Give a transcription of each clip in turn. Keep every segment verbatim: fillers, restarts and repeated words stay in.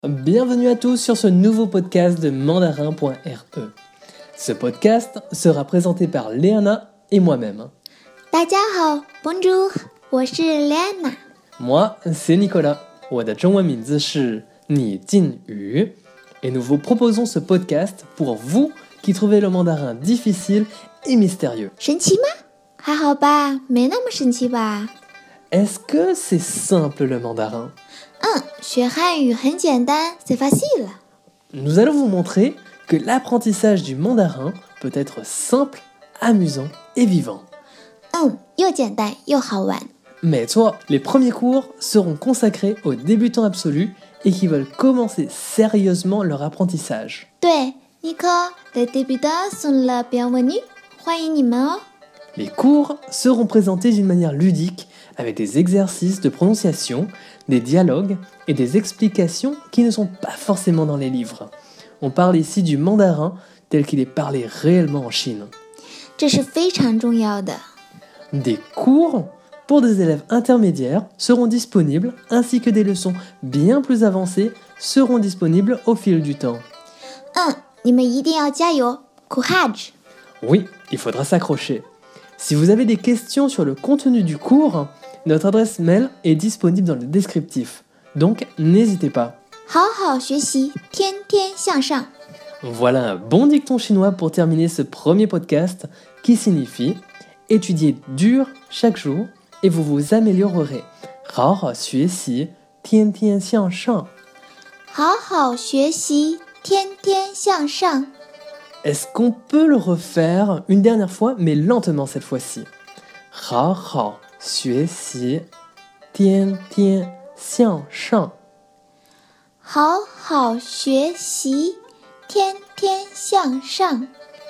Bienvenue à tous sur ce nouveau podcast de mandarin point r e. Ce podcast sera présenté par Léana et moi-même. 大家好 Bonjour 我是 Léana Moi, c'est Nicolas. 我的中文名字是你晋宇 et nous vous proposons ce podcast pour vous qui trouvez le mandarin difficile et mystérieux. 神奇吗？还好吧，没那么神奇吧。 Est-ce que c'est simple le mandarin? 嗯，学汉语很简单 c'est facile. Nous allons vous montrer que l'apprentissage du mandarin peut être simple, amusant et vivant. 嗯，又简单又好玩。 Mais toi, les premiers cours seront consacrés aux débutants absolus et qui veulent commencer sérieusement leur apprentissage. 对 Nico les débutants sont la bienvenue 欢迎你们哦。 Les cours seront présentés d'une manière ludique avec des exercices de prononciation, des dialogues et des explications qui ne sont pas forcément dans les livres. On parle ici du mandarin tel qu'il est parlé réellement en Chine. 这是非常重要的。 Des cours pour des élèves intermédiaires seront disponibles ainsi que des leçons bien plus avancées seront disponibles au fil du temps. 嗯，你们一定要加油 Courage. Oui, il faudra s'accrocher. Si vous avez des questions sur le contenu du cours, notre adresse mail est disponible dans le descriptif. Donc, n'hésitez pas. 好好学习天天向上。 Voilà un bon dicton chinois pour terminer ce premier podcast qui signifie étudiez dur chaque jour et vous vous améliorerez. 好好学习，天天向上。 好好学习天天向上。 Est-ce qu'on peut le refaire une dernière fois, mais lentement cette fois-ci? 好好学习，天天向上。 好好学习天天向上。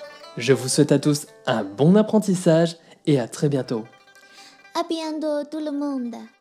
Je vous souhaite à tous un bon apprentissage et à très bientôt. À bientôt tout le monde.